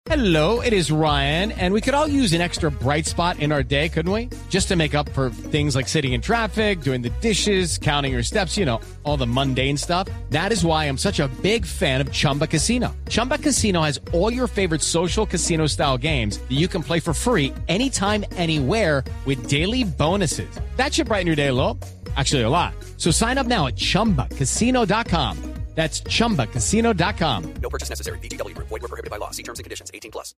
Hello, it is Ryan, and we could all use an extra bright spot in our day, couldn't we? Just to make up for things like sitting in traffic, doing the dishes, counting your steps, you know, all the mundane stuff. That is why I'm such a big fan of Chumba Casino. Chumba Casino has all your favorite social casino-style games that you can play for free anytime, anywhere with daily bonuses. That should brighten your day a little. Actually, a lot. So sign up now at ChumbaCasino.com. That's ChumbaCasino.com. No purchase necessary. VGW Group. Void where prohibited by law. See terms and conditions. 18+.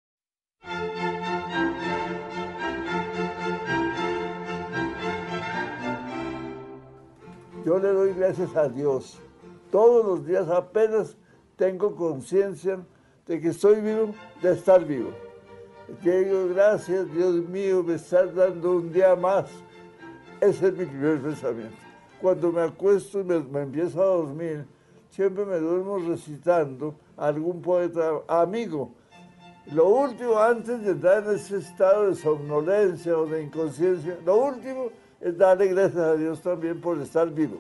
Yo le doy gracias a Dios. Todos los días apenas tengo conciencia de que estoy vivo, de estar vivo. Yo digo, gracias, Dios mío, me estás dando un día más. Ese es mi primer pensamiento. Cuando me acuesto y me empiezo a dormir, siempre me duermo recitando a algún poeta amigo. Lo último, antes de entrar en ese estado de somnolencia o de inconsciencia, lo último es darle gracias a Dios también por estar vivo.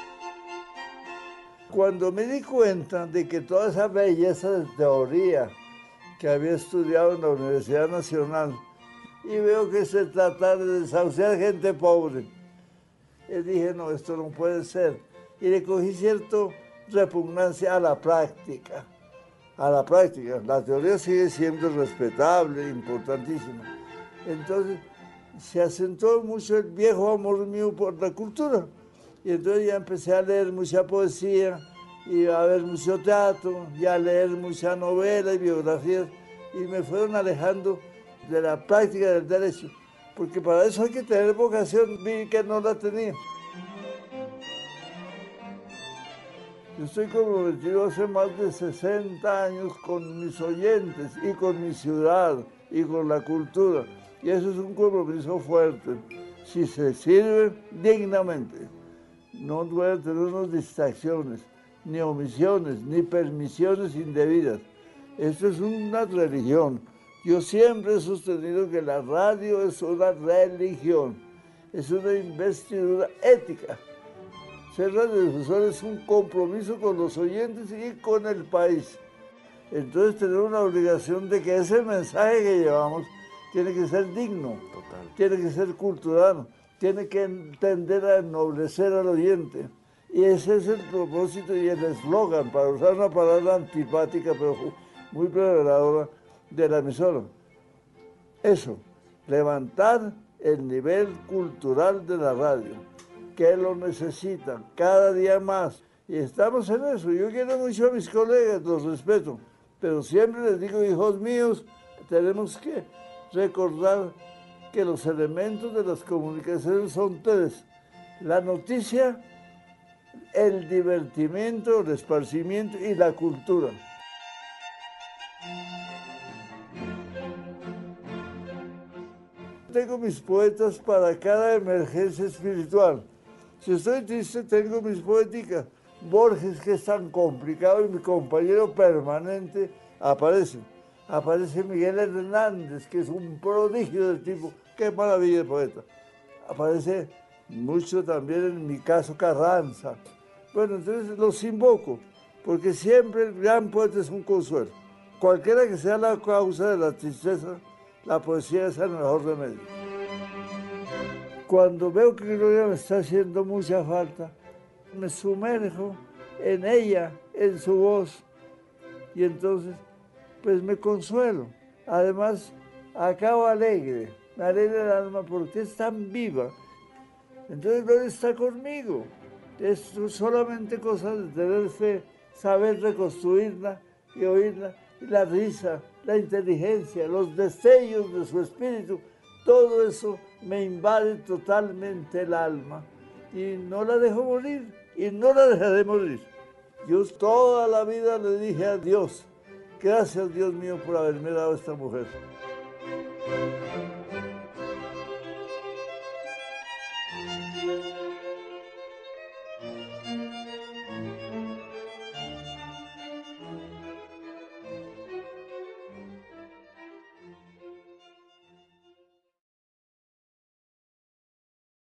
Cuando me di cuenta de que toda esa belleza de teoría que había estudiado en la Universidad Nacional y veo que se trataba de desahuciar gente pobre, y dije, no, esto no puede ser. Y le cogí cierta repugnancia a la práctica. A la práctica. La teoría sigue siendo respetable, importantísima. Entonces, se acentuó mucho el viejo amor mío por la cultura. Y entonces ya empecé a leer mucha poesía, y a ver mucho teatro, y a leer mucha novela y biografías, y me fueron alejando de la práctica del derecho, porque para eso hay que tener vocación, vi que no la tenía. Yo estoy comprometido hace más de 60 años con mis oyentes y con mi ciudad y con la cultura. Y eso es un compromiso fuerte. Si se sirve dignamente, no puede tener unas distracciones, ni omisiones, ni permisiones indebidas. Esto es una religión. Yo siempre he sostenido que la radio es una religión, es una investidura ética. Ser radiodifusor es un compromiso con los oyentes y con el país. Entonces tenemos una obligación de que ese mensaje que llevamos tiene que ser digno, tiene que ser cultural, tiene que tender a ennoblecer al oyente. Y ese es el propósito y el eslogan, para usar una palabra antipática pero muy preveladora, de la emisora. Eso, levantar el nivel cultural de la radio, que lo necesitan cada día más. Y estamos en eso. Yo quiero mucho a mis colegas, los respeto, pero siempre les digo, hijos míos, tenemos que recordar que los elementos de las comunicaciones son tres: la noticia, el divertimento, el esparcimiento y la cultura. Tengo mis poetas para cada emergencia espiritual. Si estoy triste, tengo mis poéticas. Borges, que es tan complicado, y mi compañero permanente, aparece. Aparece Miguel Hernández, que es un prodigio de tipo. ¡Qué maravilla de poeta! Aparece mucho también, en mi caso, Carranza. Bueno, entonces los invoco, porque siempre el gran poeta es un consuelo. Cualquiera que sea la causa de la tristeza, la poesía es el mejor remedio. Cuando veo que Gloria me está haciendo mucha falta, me sumerjo en ella, en su voz, y entonces, pues me consuelo. Además, acabo alegre, me alegra el alma porque es tan viva. Entonces Gloria está conmigo. Es solamente cosa de tener fe, saber reconstruirla y oírla. Y la risa, la inteligencia, los destellos de su espíritu, todo eso me invade totalmente el alma. Y no la dejo morir, y no la dejaré morir. Yo toda la vida le dije a Dios, gracias Dios mío por haberme dado esta mujer.